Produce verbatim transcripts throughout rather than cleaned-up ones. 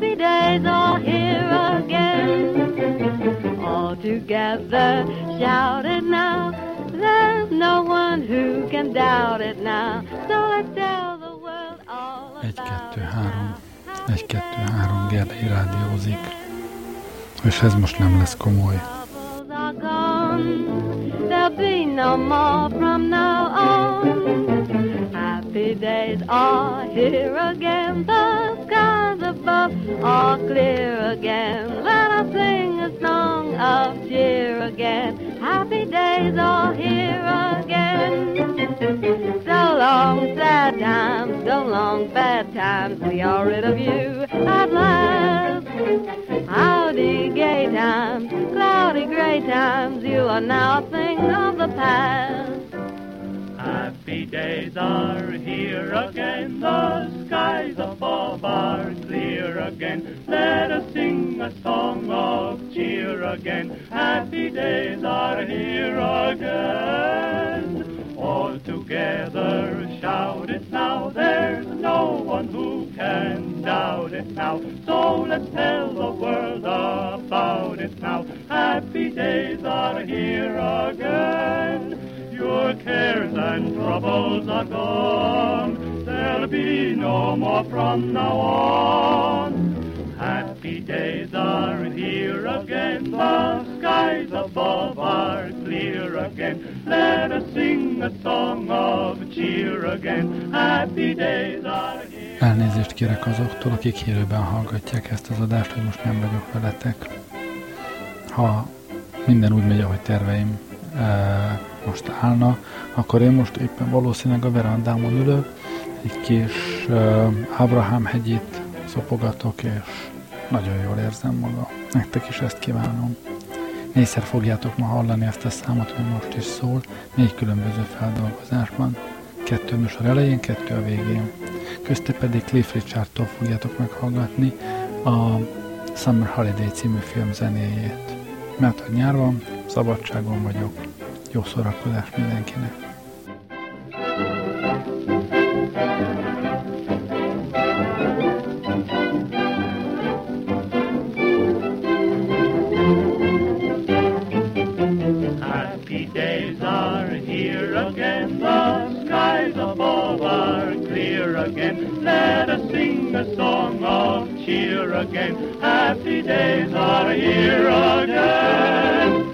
Happy days are here again. All together, shout it now. There's no one who can doubt it now. So let's tell the world all about it. Egy, kettő, három. Egy, kettő, három, Gerlei rádiózik. És ez most nem lesz komoly. There'll be no more from now on. Happy days are here again. The skies above are clear again. Let us sing a song of cheer again. Happy days are here again. So long sad times, so long bad times. We are rid of you at last. Howdy gay times, cloudy gray times. You are now a thing of the past. Happy days are here again. The skies above are clear again. Let us sing a song of cheer again. Happy days are here again. All together shout it now. There's no one who can doubt it now. So let's tell the world about it now. Happy days are here again. Your cares and troubles are gone. There'll be no more from now on. Happy days are here again. The skies above are clear again. Let us sing a song of cheer again. Happy days are here. Elnézést kérek azoktól, akik hírőben hallgatják ezt az adást, hogy most nem vagyok veletek. Ha minden úgy megy, ahogy terveim e, most állna, akkor én most éppen valószínűleg a verandámon ülök, egy kis e, Ábrahám hegyét szopogatok, és nagyon jól érzem magam. Nektek is ezt kívánom. Négyszer fogjátok ma hallani ezt a számot, ami most is szól, négy különböző feldolgozásban. Kettő műsor elején, kettő a végén. Közte pedig Cliff Richardtól fogjátok meghallgatni a Summer Holiday című film zenéjét. Mert hogy nyár van, szabadságon vagyok. Jó szórakozás mindenkinek! Happy days are here again. The skies above are clear again. Let us sing a song of cheer again. Happy days are here again.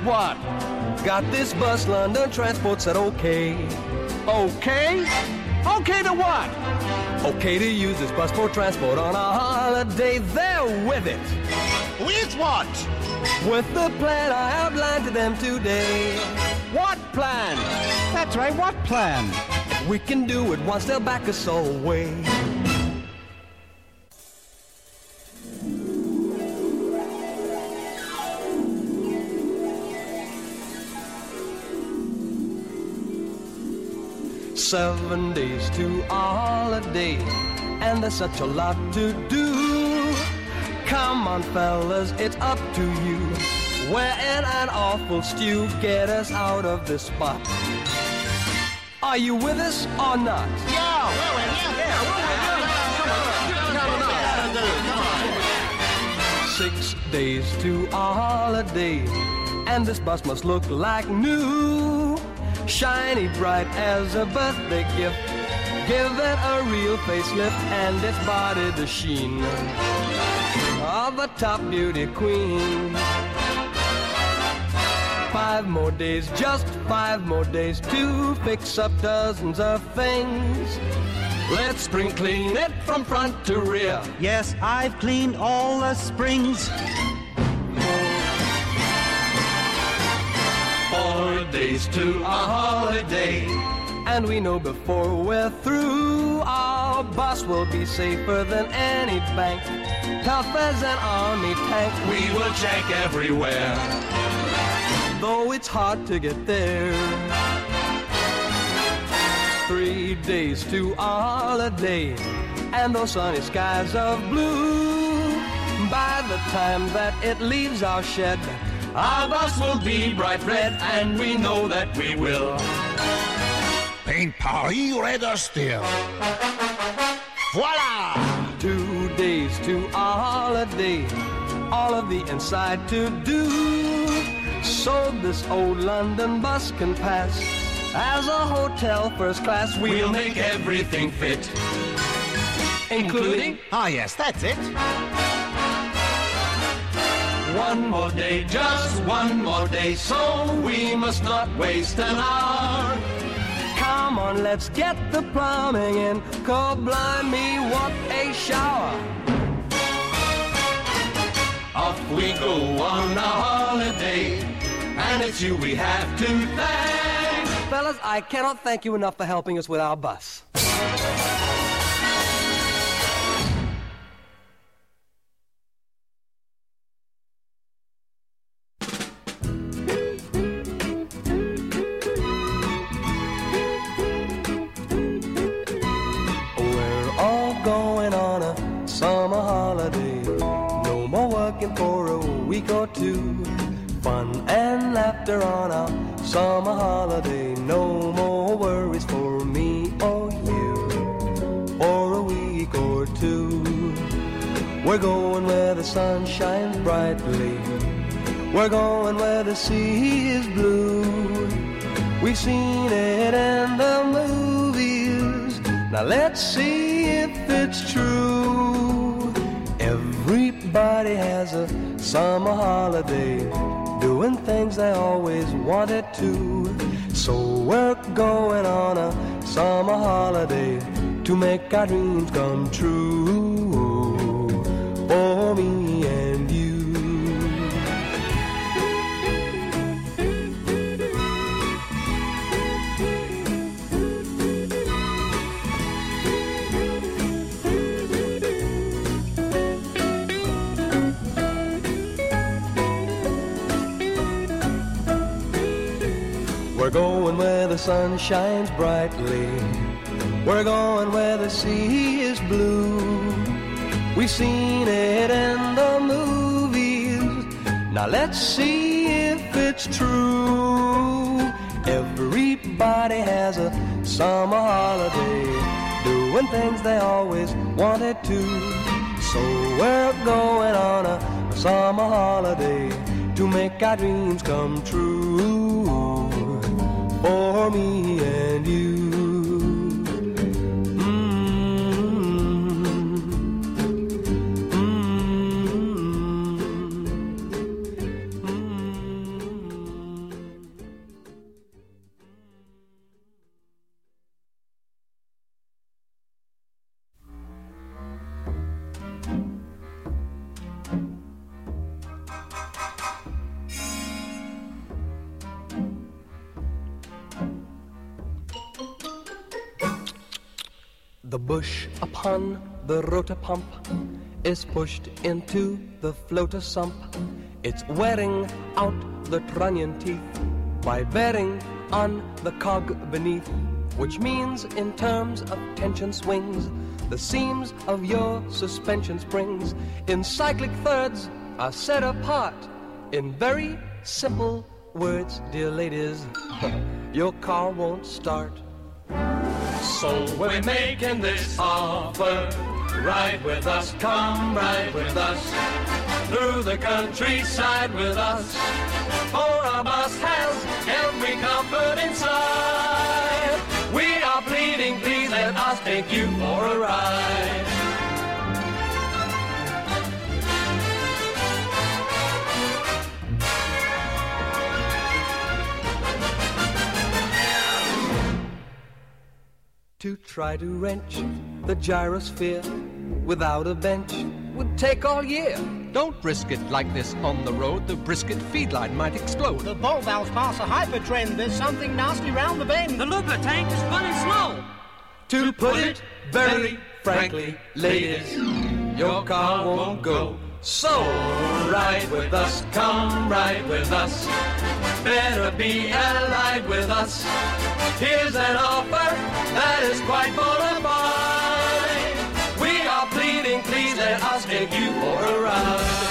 what? Got this bus, London Transport said okay. Okay? Okay to what? Okay to use this bus for transport on a holiday. They're with it. With what? With the plan I outlined to them today. What plan? That's right, what plan? We can do it once they'll back us all away. Seven days to a holiday, and there's such a lot to do. Come on, fellas, it's up to you. We're in an awful stew. Get us out of this spot. Are you with us or not? Yeah! Six days to a holiday, and this bus must look like new. Shiny bright as a birthday gift. Give it a real facelift and its body the sheen of a top beauty queen. Five more days, just five more days to fix up dozens of things. Let's spring clean it from front to rear. Yes, I've cleaned all the springs. Four days to a holiday, and we know before we're through, our bus will be safer than any bank. Tough as an army tank, we will check everywhere, though it's hard to get there. Three days to a holiday, and those sunny skies of blue. By the time that it leaves our shed, our bus will be bright red, and we know that we will paint Paris redder still. Voila! Two days to a holiday, all of the inside to do, so this old London bus can pass as a hotel first class. We'll make everything fit, including... Ah, yes, that's it. One more day, just one more day, so we must not waste an hour. Come on, let's get the plumbing in. God blind me, what a shower. Off we go on a holiday, and it's you we have to thank. Fellas, I cannot thank you enough for helping us with our bus. Summer holiday, no more working for a week or two. Fun and laughter on our summer holiday, no more worries for me or you for a week or two. We're going where the sun shines brightly, we're going where the sea is blue. We've seen it in the movies, now let's see if it's true. Everybody has a summer holiday, doing things they always wanted to. So we're going on a summer holiday to make our dreams come true for me and you. We're going where the sun shines brightly, we're going where the sea is blue. We've seen it in the movies, now let's see if it's true. Everybody has a summer holiday, doing things they always wanted to. So we're going on a summer holiday to make our dreams come true for me and you. The bush upon the rotor pump is pushed into the floater sump. It's wearing out the trunnion teeth by bearing on the cog beneath, which means in terms of tension swings, the seams of your suspension springs in cyclic thirds are set apart in very simple words, dear ladies. Your car won't start. So we're making this offer. Ride with us, come ride with us. Through the countryside with us. For our bus has every comfort inside. We are pleading, please let us take you for a ride. To try to wrench the gyrosphere without a bench would take all year. Don't risk it like this on the road. The brisket feed line might explode. The ball valves pass a hypertrend. There's something nasty round the bend. The lubricant tank is running slow. To put it very frankly, ladies, your car won't go. So ride with us, come ride with us. Better be allied with us. Here's an offer that is quite bona fide. We are pleading, please let us take you for a ride.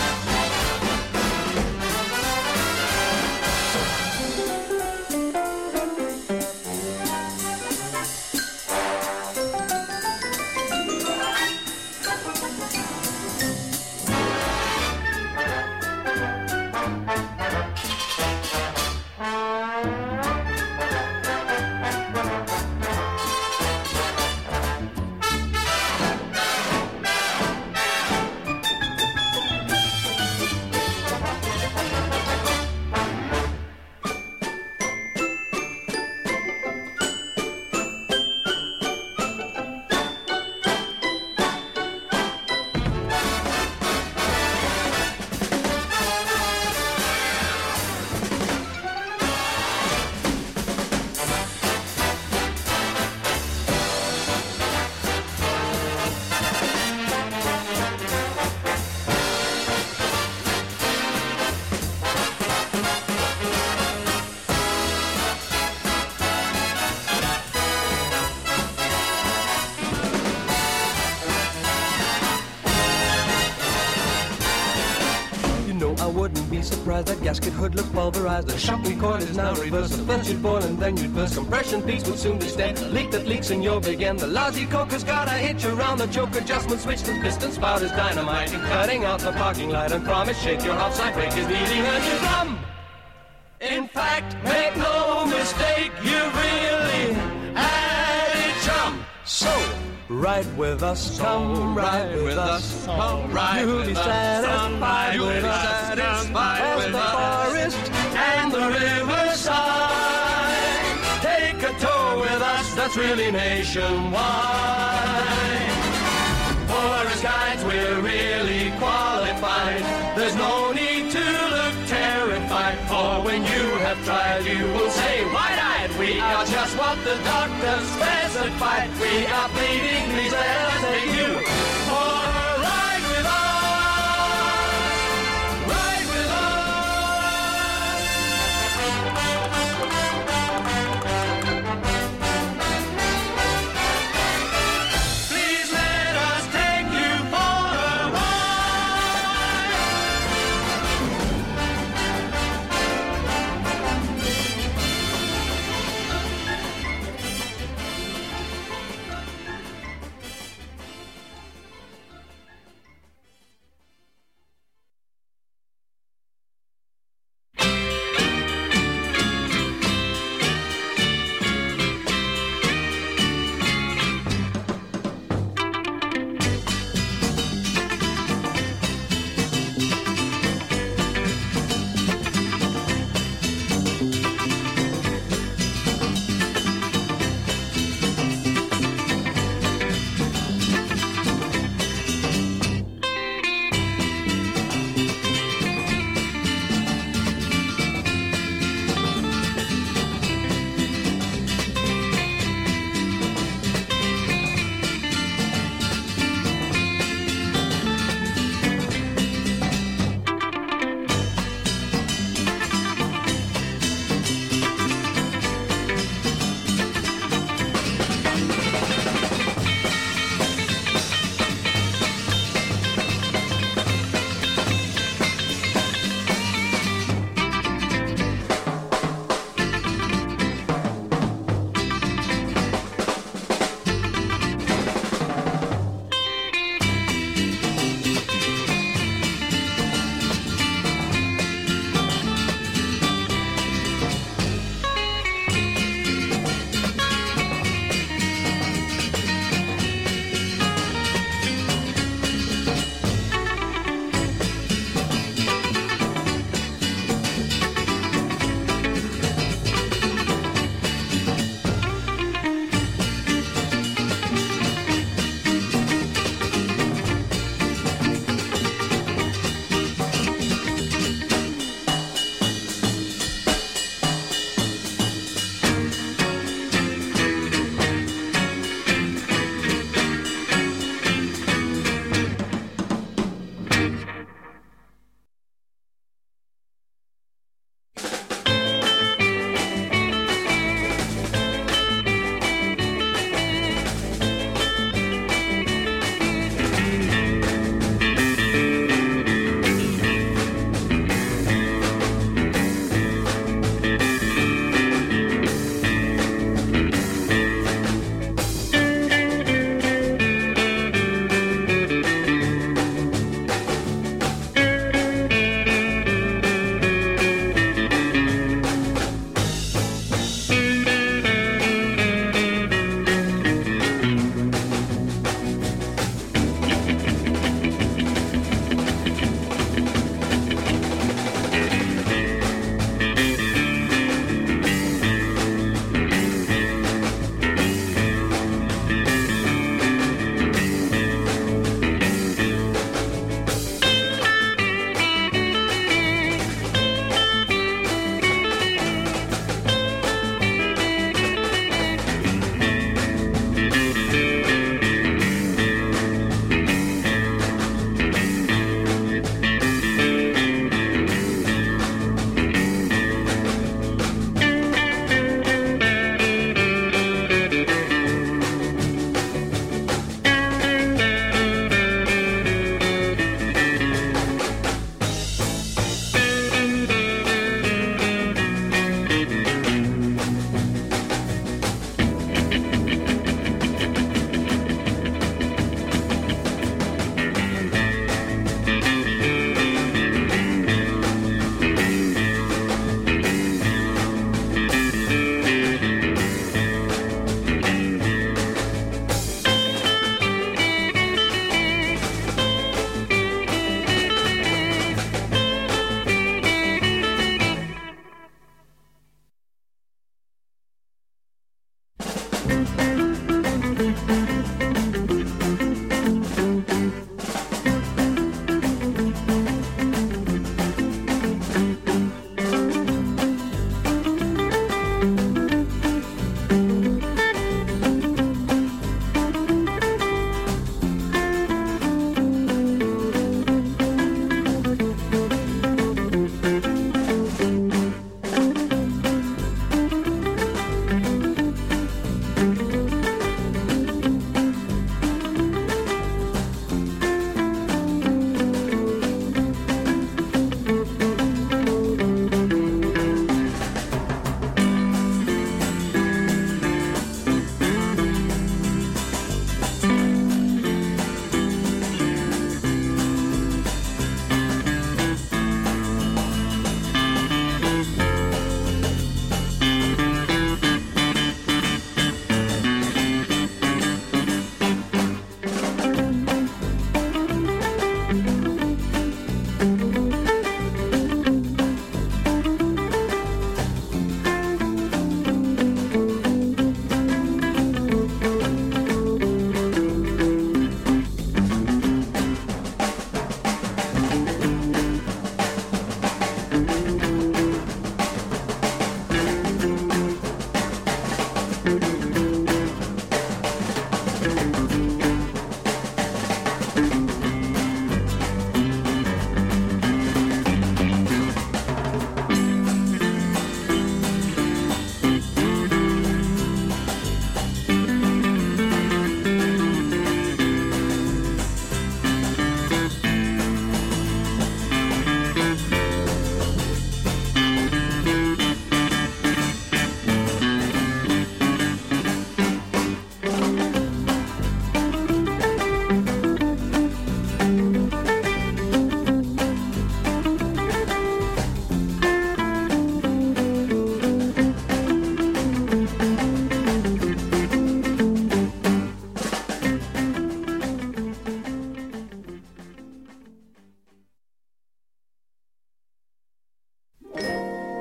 Surprised that gasket hood looked pulverized. The shocking cord is now reversed. The first you'd boil and then you'd burst. Compression peaks will soon be stemmed. The leak that leaks in your big end. The lousy coker's got a hitch around the choke adjustment switch. The piston spout is dynamite. Cutting out the parking light and promise shake your outside brake is needing a new drum. In fact, make no mistake, you really added chum. So ride with us, So come ride with, with us. us, come ride You'll with be us, satisfied you'll with be us. satisfied As with the us. forest and the riverside. Take a tour with us, that's really nationwide. For as guides, we're really qualified. There's no need to look terrified. For when you have tried, you will say, wide-eyed, we are just what the doctor specified. We are pleading, please let us take you for a ride with us. Ride with us. Please let us take you for a ride.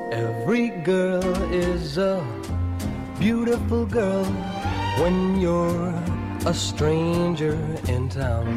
Every girl is a beautiful girl when you're a stranger in town.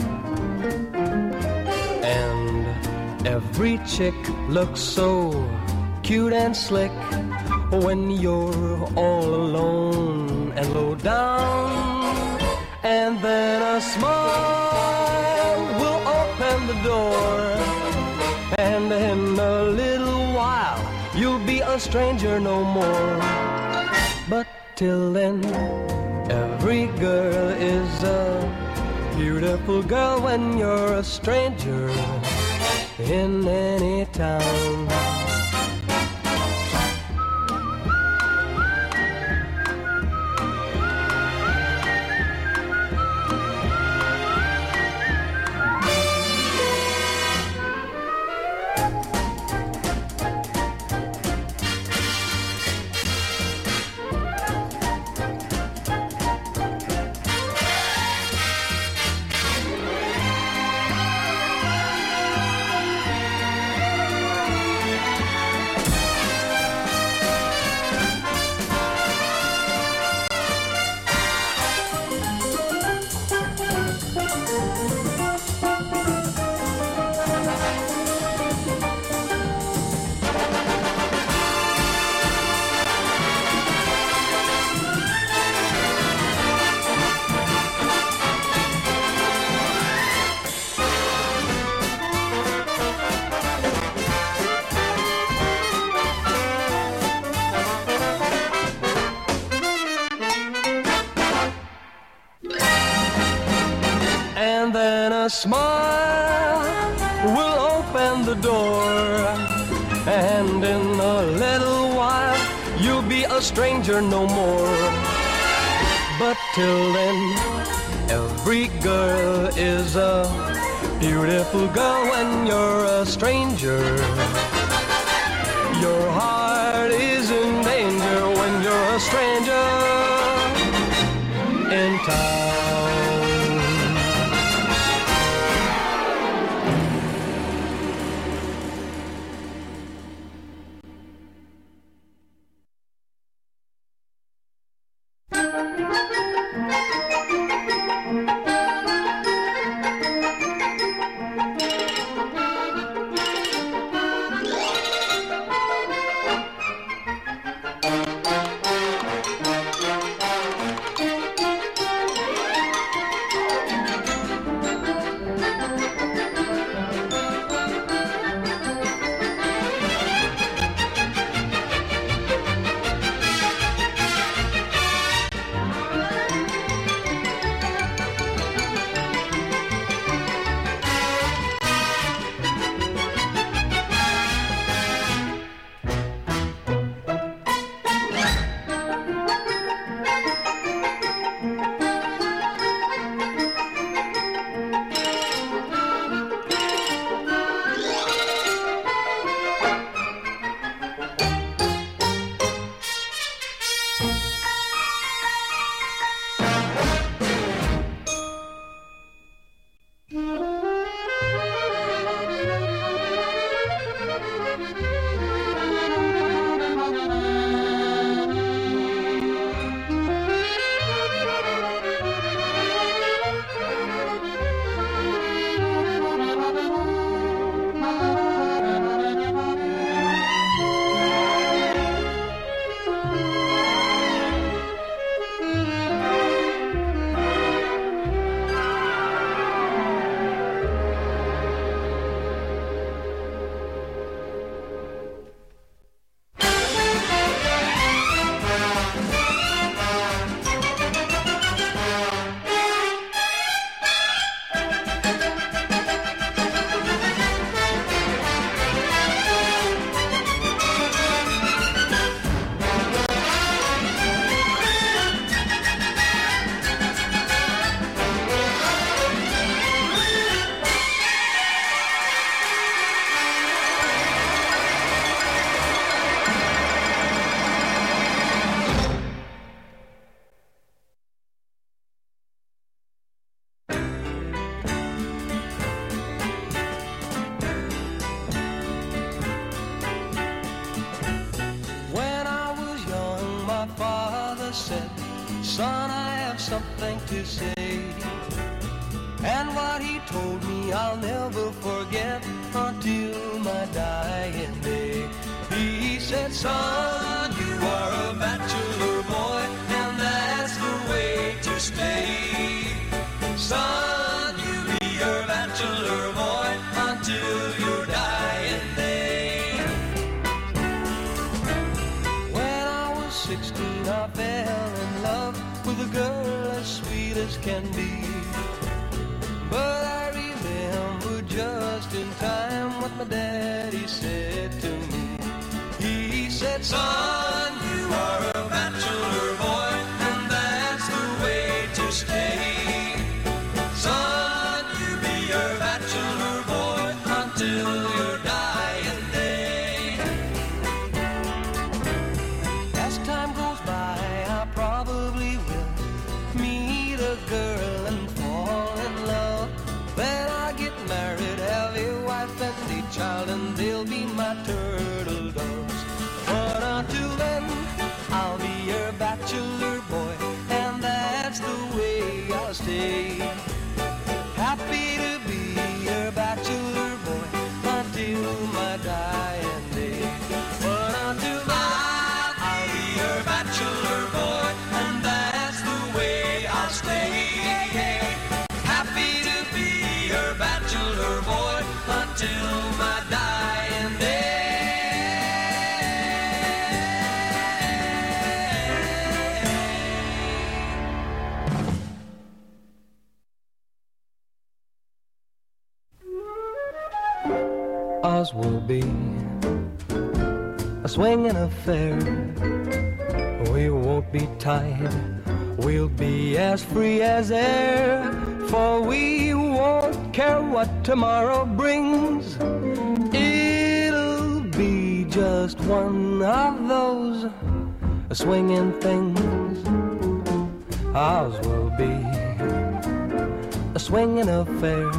And every chick looks so cute and slick when you're all alone and low down. And then a smile will open the door, and in a little while you'll be a stranger no more. But till then, every girl is a beautiful girl when you're a stranger in any town. Smile will open the door, and in a little while you'll be a stranger no more. But till then, every girl is a beautiful girl when you're a stranger. Your heart is in danger when you're a stranger in town. son, I have something to say. And what he told me I'll never forget until my dying day. He said, son, you are a bachelor boy, and that's the way to stay. Son, you be your bachelor boy until your dying day. When I was sixteen, I fell in love with a girl as sweet as can be. But I remember just in time what my daddy said to me. He said, son, you are a bachelor boy, and that's the way to stay. Son, you be your bachelor boy until your dying day. As time goes by, I probably will meet a girl and fall in love. Then I get married, have a wife and a child, and they'll be my turtle doves. But until then, I'll be your bachelor boy, and that's the way I'll stay. Happy to be your bachelor boy until my dying day. But until then, I'll be your bachelor boy, and that's the way I'll stay. Happy to be your bachelor boy until my dying day. Ours will be a swinging affair. We won't be tied, we'll be as free as air. For we won't care what tomorrow brings. It'll be just one of those swinging things. Ours will be a swinging affair.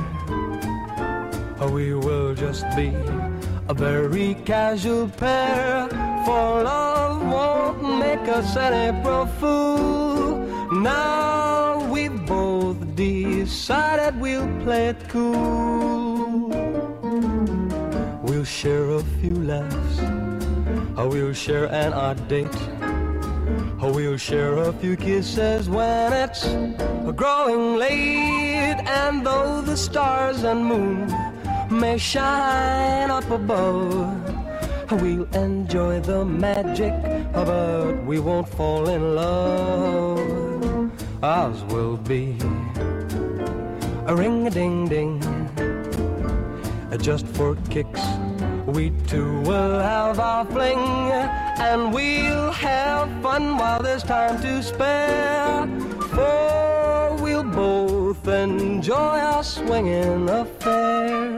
We will just be a very casual pair. For love won't make us an April fool. Now we've both decided we'll play it cool. We'll share a few laughs, we'll share an odd date, we'll share a few kisses when it's growing late. And though the stars and moon may shine up above, we'll enjoy the magic, but we won't fall in love. Ours will be a ring-a-ding-ding, just for kicks. We two will have our fling, and we'll have fun while there's time to spare. For we'll both enjoy our swinging affair.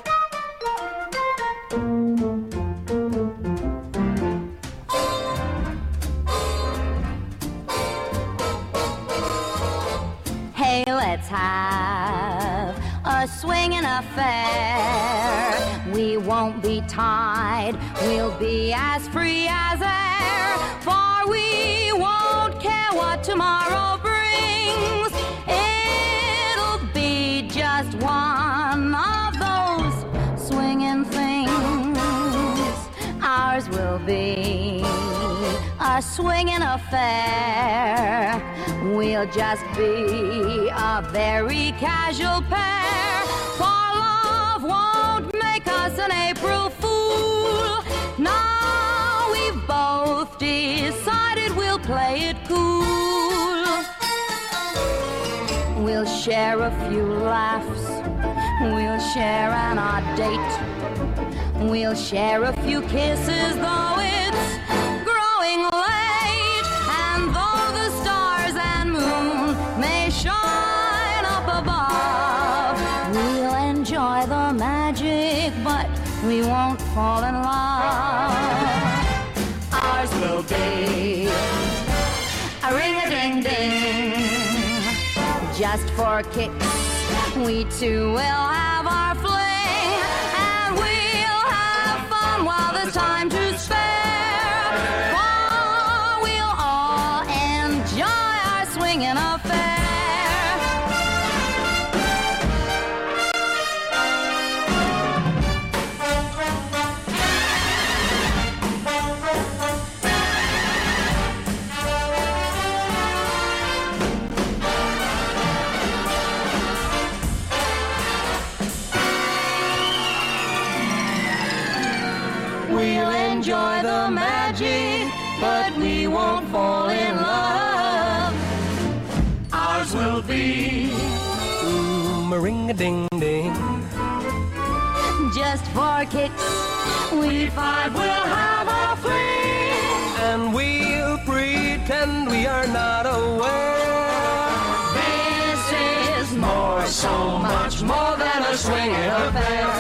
Let's have a swinging affair. We won't be tied, we'll be as free as air. For we won't care what tomorrow brings. It'll be just one of those swinging things. Ours will be a swinging affair. We'll just be a very casual pair. For love won't make us an April fool. Now we've both decided we'll play it cool. We'll share a few laughs, we'll share an odd date, we'll share a few kisses, though it's growing late. And though the stars and moon may shine up above, we'll enjoy the magic, but we won't fall in love. Ours will be a ring-a-ding-ding, just for kicks. We two will have our fling, and we'll have fun while there's time to spare. For we'll all enjoy our swing. We'll enjoy the magic, but we won't fall in love. Ours will be mm, ring-a-ding-ding. Just for kicks, we five will have a fling, and we'll pretend we are not aware. This is more, so much more than a swinging affair.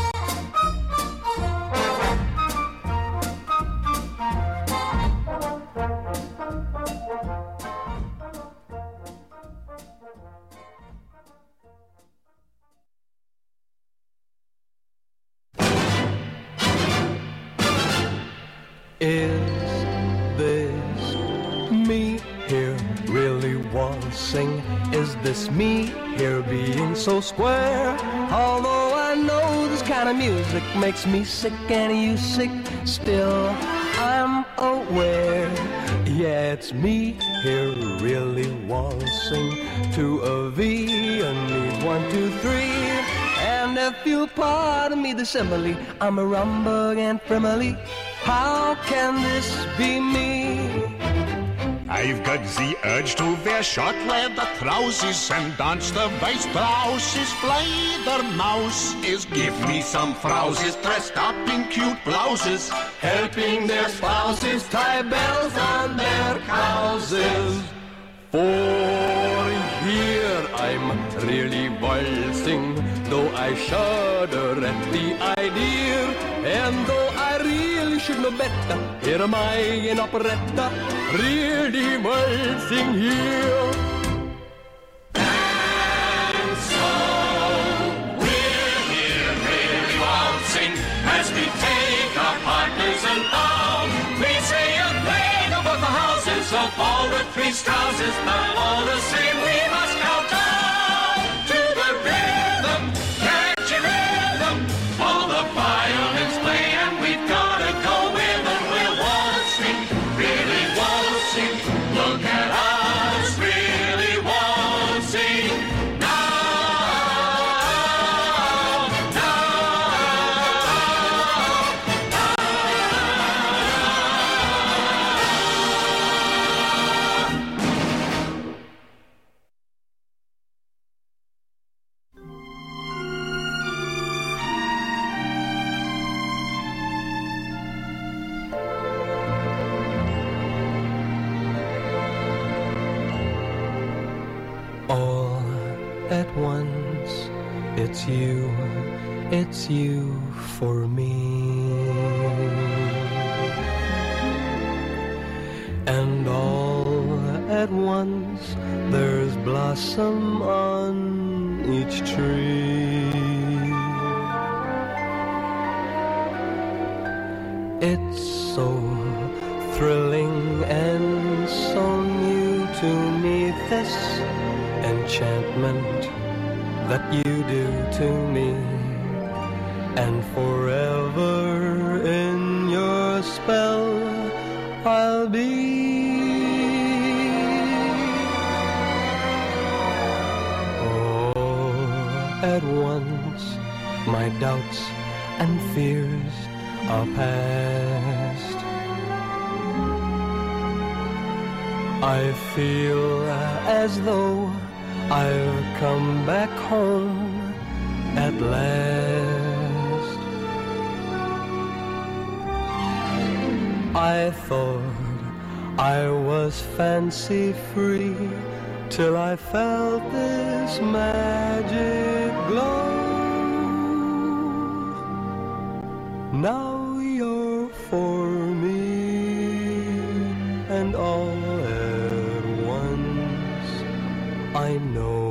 Is this me here really waltzing? Is this me here being so square? Although I know this kind of music makes me sick and you sick, still I'm aware. Yeah, it's me here really waltzing to a V and me one, two, three. And if you'll pardon me the simile, I'm a rumbug and frivolous. How can this be me? I've got the urge to wear short leather trousers and dance the Weißbrauses. Fledermaus give me some frouses dressed up in cute blouses, helping their spouses tie bells on their houses. For here I'm really waltzing, though I shudder at the idea, and though I really should know better, here am I in operetta, really waltzing here. And so we're here really waltzing as we take our partners and bow. We say a thing about the houses of all the three spouses, but all the same we must kowtow to the rhythm, catchy rhythm. All the violins play and we've gotta go with them. We're waltzing, really waltzing. Look at us, really waltzing. All at once, it's you, it's you for me. And all at once, there's blossom on each tree. It's so thrilling and so new to me, this enchantment that you do to me, and forever in your spell I'll be. Oh, at once my doubts and fears are past. I feel as though I've come back home at last. I thought I was fancy free till I felt this magic glow. Now you're for me, and all at once I know.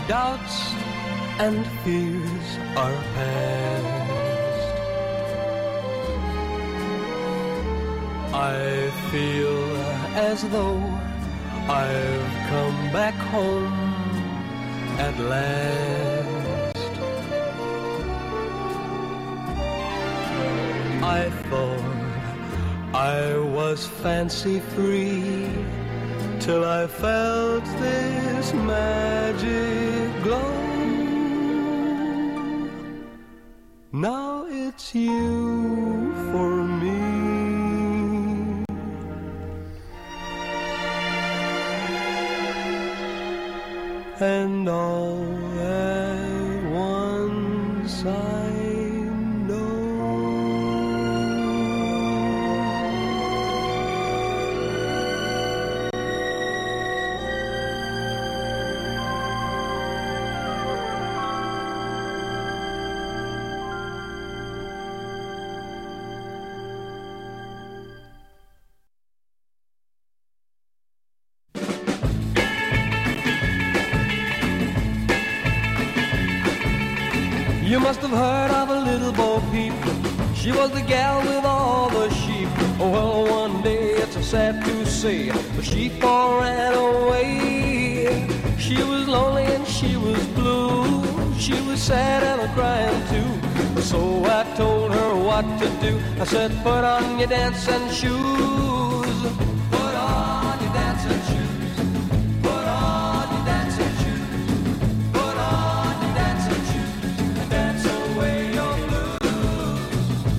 doubts and fears are past. I feel as though I've come back home at last. I thought I was fancy free till I felt this magic glow. Now it's you for me. And all at once I You must have heard of a little Bo Peep. She was the gal with all the sheep. Well, one day, it's sad to say, the sheep all ran away. She was lonely and she was blue. She was sad and a crying too. So I told her what to do. I said, put on your dancing shoes. Put on your dancing shoes. Put on your dancing shoes. Put on your dancing shoes. Dance away your blues.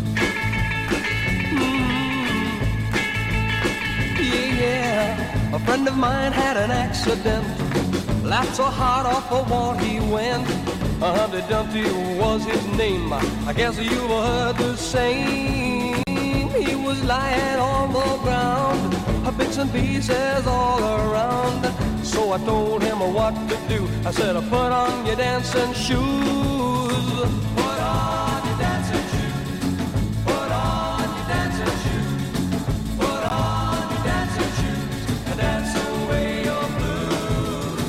Mm. Yeah, yeah. A friend of mine had an accident. Laughed so hard off the wall he went. Uh, Humpty Dumpty was his name. I guess you've heard the same. He was lying on the ground, bits and pieces all around. So I told him what to do. I said, put on your dancing shoes. Put on your dancing shoes. Put on your dancing shoes. Put on your dancing shoes. And dance away your blues.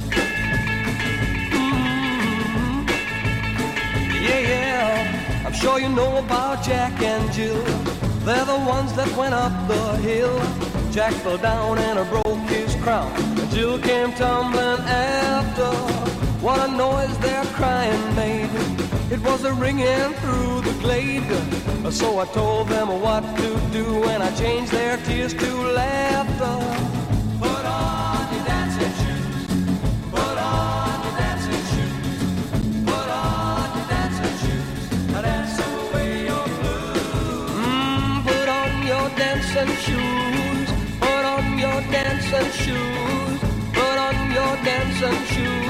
Mm-hmm. Yeah, yeah. I'm sure you know about Jack and Jill. They're the ones that went up the hill. Jack fell down and broke his crown. And Jill came tumbling after. What a noise their crying made. It was a ringing through the glade. So I told them what to do, and I changed their tears to laughter. Put on your dancing shoes. Put on your dancing shoes. Put on your dancing shoes. Dance away your blues. Mm, put on your dancing shoes. Put on your dancing shoes. Put on your dancing shoes.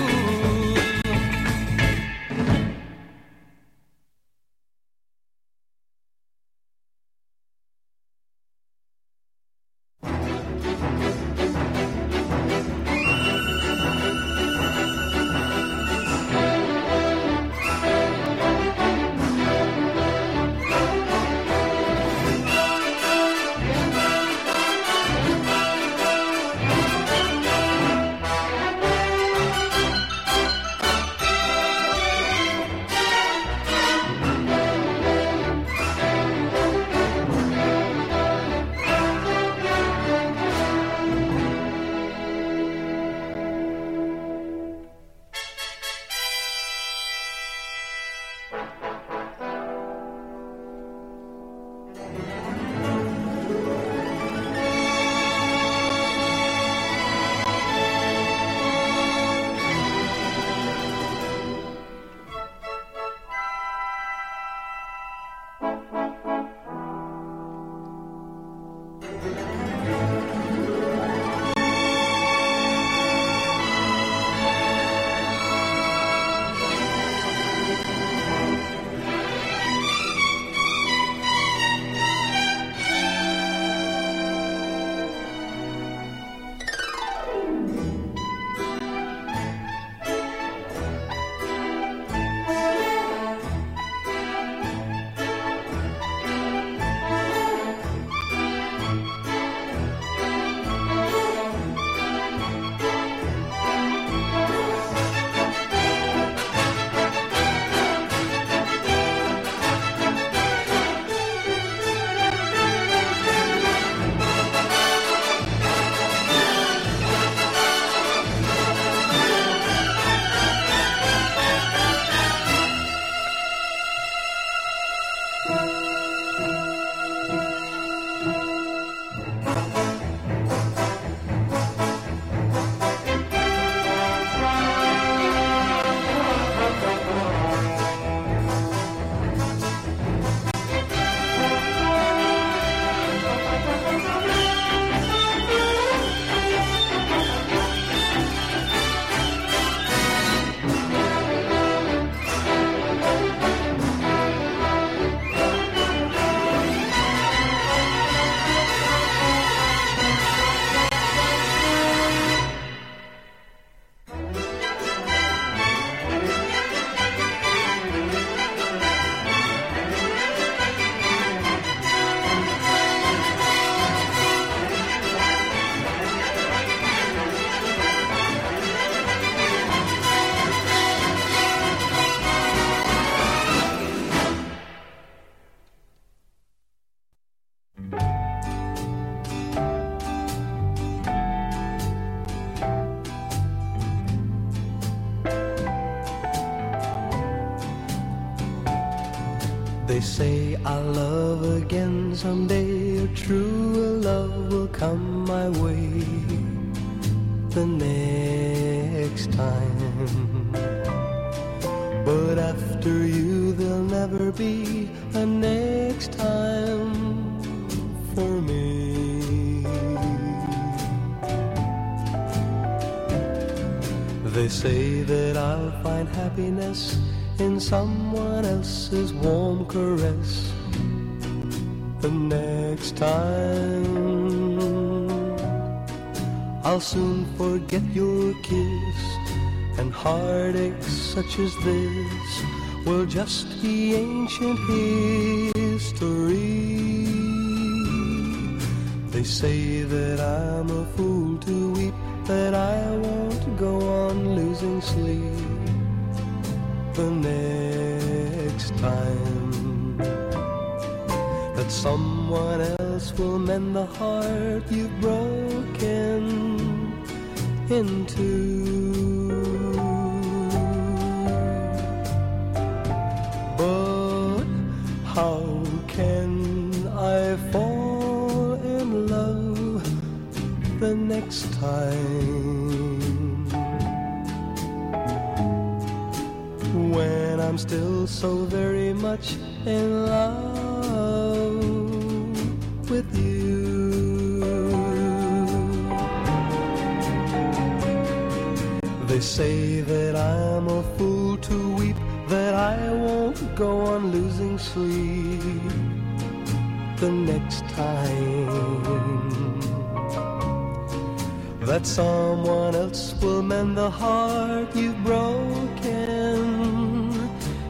They say I'll love again someday, a true love will come my way the next time. But after you there'll never be a next time for me. They say that I'll find happiness in someone else's warm caress the next time. I'll soon forget your kiss, and heartaches such as this will just be ancient history. They say that I'm a fool to weep, that I won't go on losing sleep the next time, that someone else will mend the heart you've broken into. But how can I fall in love the next time when I'm still so very much in love with you? They say that I'm a fool to weep, that I won't go on losing sleep the next time, that someone else will mend the heart you've broken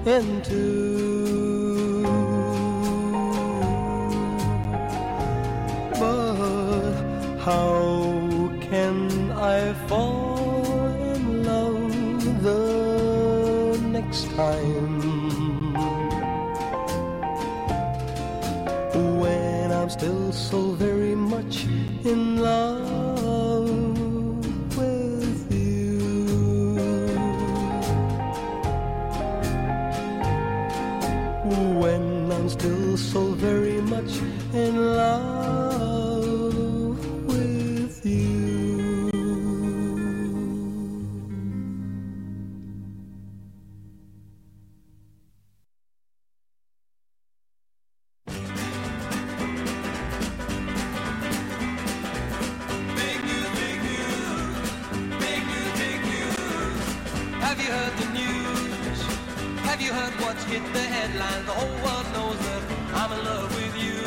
into. But how can I fall in love the next time when I'm still so very much in love with you? When I'm still so very much in love with you. Hit the headlines, the whole world knows that I'm in love with you.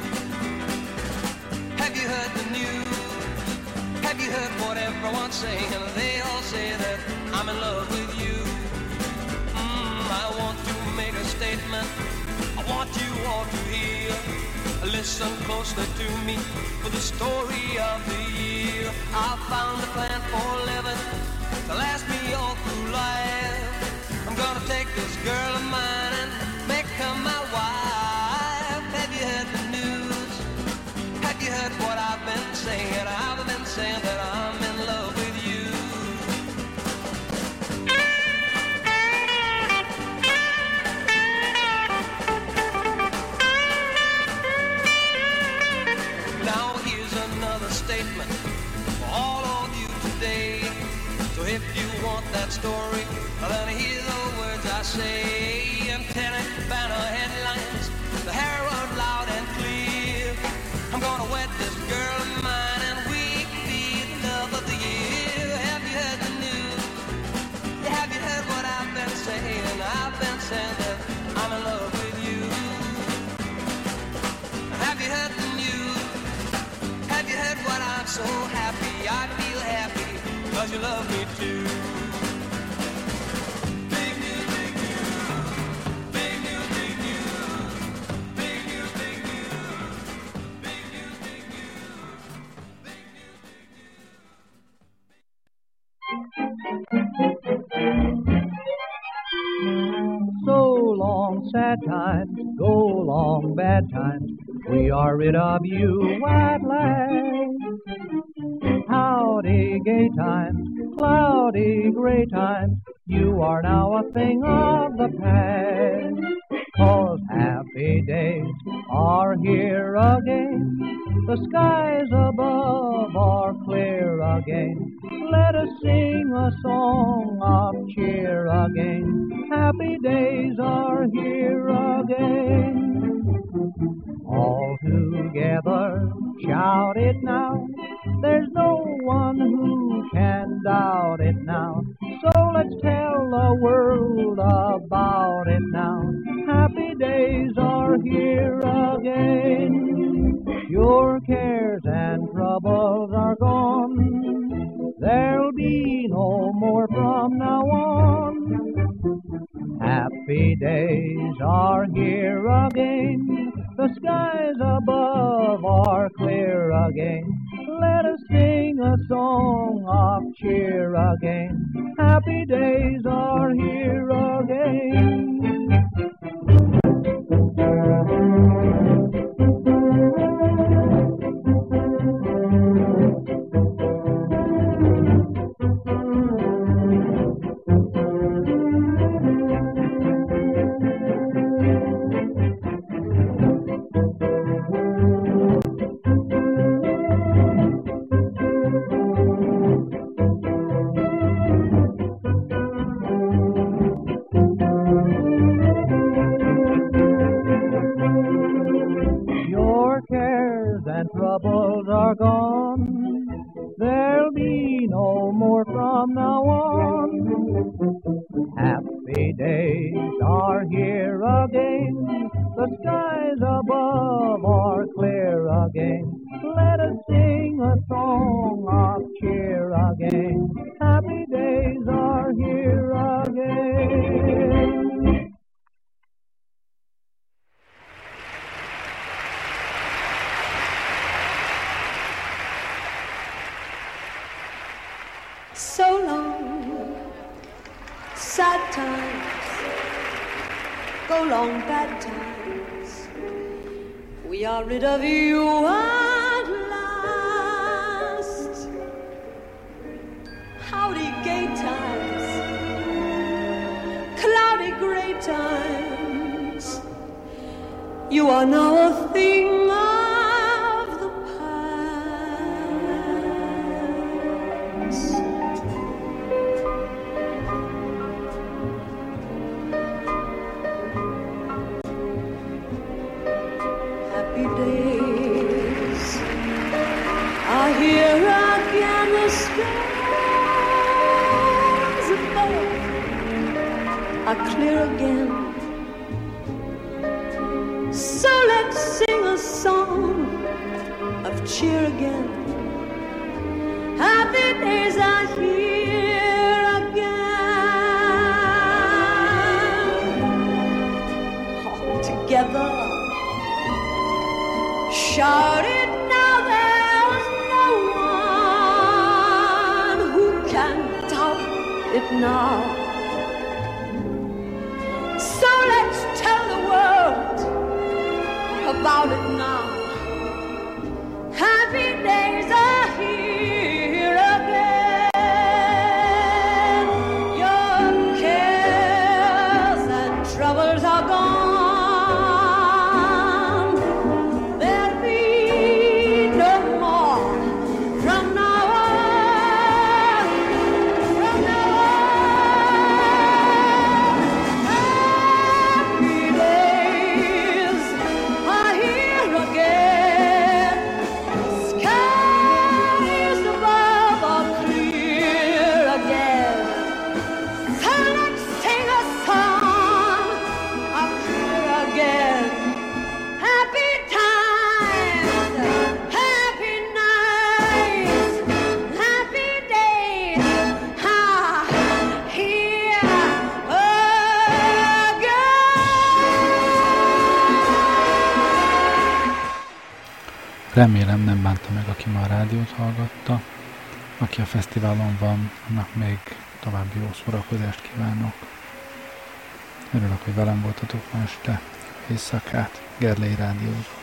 Have you heard the news? Have you heard what everyone's saying? They all say that I'm in love with you. Mm, I want to make a statement, I want you all to hear. Listen closely to me for the story of the year. I found a plan for living to last me all through life. I'm gonna take this girl of mine and make her my wife. Have you heard the news? Have you heard what I've been saying? I've been saying that I'm in love with you. Now here's another statement for all of you today. So if you want that story, then hear the words I say. Antenna, banner, headlines, the herald loud and clear. I'm gonna wed this girl of mine and we can be the love of the year. Have you heard the news? Have you heard what I've been saying? I've been saying that I'm in love with you. Have you heard the news? Have you heard what I'm so happy? I feel happy because you love me too. Sad times, go long bad times, we are rid of you at last. Howdy gay times, cloudy gray times, you are now a thing of the past. 'Cause half Happy days are here again. The skies above are clear again. Let us sing a song of cheer again. Happy days are here again. All together, shout it now. There's no one who can doubt it now. So let's tell the world about it now. Happy days are here again. Your cares and troubles are gone. There'll be no more from now on. Happy days are here again. The skies above are clear again. Let us sing a song of cheer again. Happy days are here again. Troubles are gone. There'll be no more from now on. Happy days are here again. The skies above are clear again. Let us sing a song of cheer again. Happy days are here again. So long, sad times, go long, bad times. We are rid of you at last. Howdy, gay times, cloudy, gray times. You are now a thing of the past. Happy days are here again. The skies above are clear again. So let's sing a song of cheer again. Happy days are here again. All together, shout it now, there's no one who can doubt it now. So let's tell the world about it now. Happy days are here again. Your cares and troubles are gone. There'll be no more from now on. From now on. Happy days are here again. Skies above are clear again. So let's sing a song of cheer again. Happy times, happy nights, happy days are here again. Remélem nem bánta meg, aki ma a rádiót hallgatta. Aki a fesztiválon van, annak még további jó szórakozást kívánok. Örülök, hogy velem voltatok ma este. Éjszakát. Gerlei rádiózó.